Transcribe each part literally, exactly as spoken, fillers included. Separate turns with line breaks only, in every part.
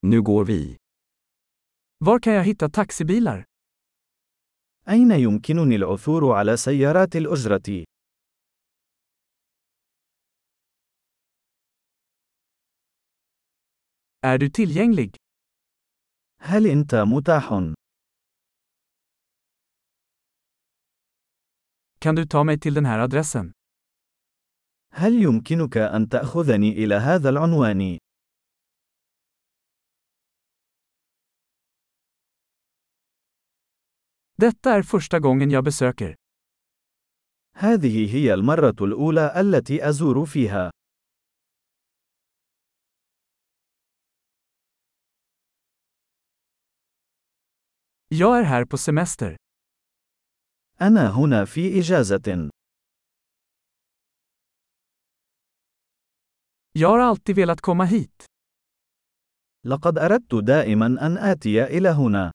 Nu går vi.
Var kan jag hitta taxibilar?
أين يمكنني العثور على سيارات الأجرة؟
Är du tillgänglig?
هل أنت متاح؟
Kan du ta mig till den här adressen?
هل يمكنك أن تأخذني إلى هذا العنوان؟
Detta är första gången jag besöker.
هذه هي المرة الأولى التي أزور فيها.
Jag är här på semester.
أنا هنا في إجازة.
Jag har alltid velat komma hit.
لقد أردت دائما أن آتي إلى هنا.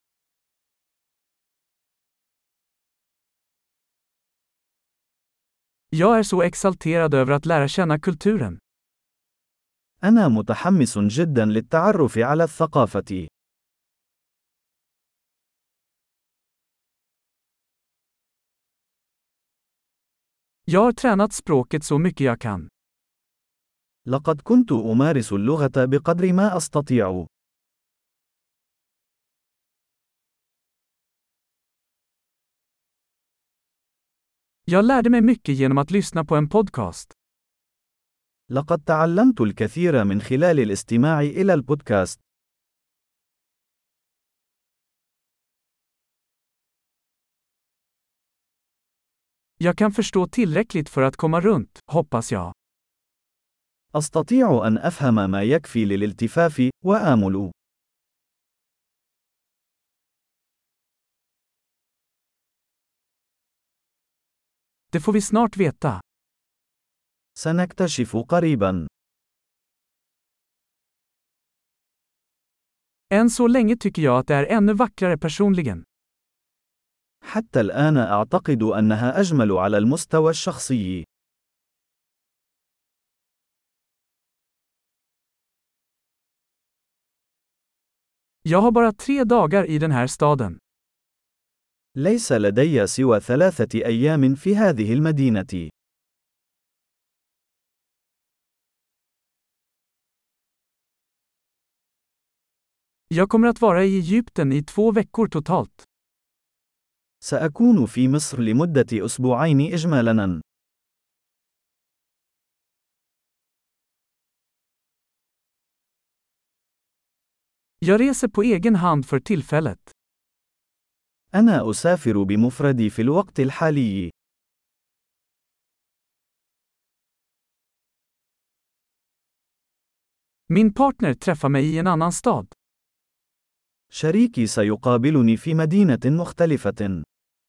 Jag är så exalterad över att lära känna kulturen.
أنا متحمس جدا للتعرف على الثقافة.
Jag har tränat språket så mycket jag kan.
لقد كنت أمارس اللغة بقدر ما أستطيع.
Jag lärde mig mycket genom att lyssna på en podcast.
لقد تعلمت الكثير من خلال الاستماع إلى البودكاست.
Jag kan förstå tillräckligt för att komma runt, hoppas jag.
أستطيع أن أفهم ما يكفي للالتفاف، وآمل.
Det får vi snart veta.
سنكتشف قريبا.
Än så länge tycker jag att det är ännu vackrare personligen.
حتى الآن أعتقد أنها أجمل على المستوى الشخصي.
Jag har bara tre dagar i den här staden.
ليس لدي سوى ثلاثة أيام في هذه المدينة.
Jag kommer att vara i Egypten i två veckor totalt.
سأكون في مصر لمدة أسبوعين إجمالاً.
Jag reser på egen hand för tillfället.
أنا أسافر بمفردي في الوقت الحالي.
Min partner träffar mig i en annan stad.
شريكي سيقابلني في مدينة مختلفة.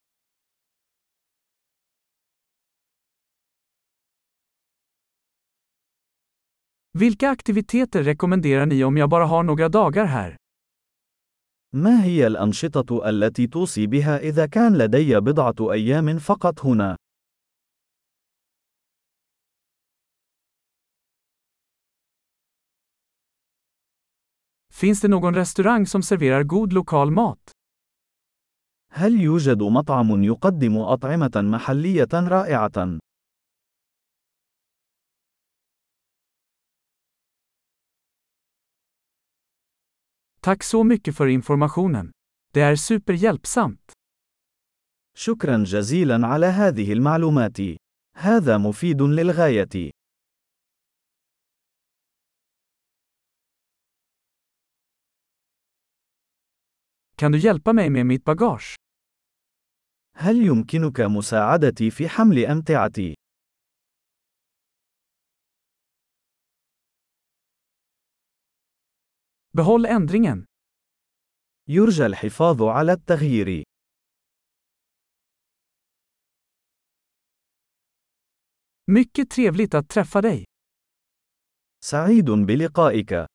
Vilka aktiviteter rekommenderar ni om jag bara har några dagar här?
ما هي الأنشطة التي توصي بها إذا كان لدي بضعة أيام فقط هنا؟
Finns det någon restaurang som serverar god lokal mat?
هل يوجد مطعم يقدم أطعمة محلية رائعة؟
Tack så mycket för informationen. Det är superhjälpsamt.
شكرا جزيلا على هذه المعلومات. هذا مفيد للغاية.
Kan du hjälpa mig med mitt bagage?
هل يمكنك مساعدتي في حمل أمتعتي؟
Behåll ändringen.
يرجى الحفاظ على التغيير.
Mycket trevligt att träffa dig.
سعيد بلقائك.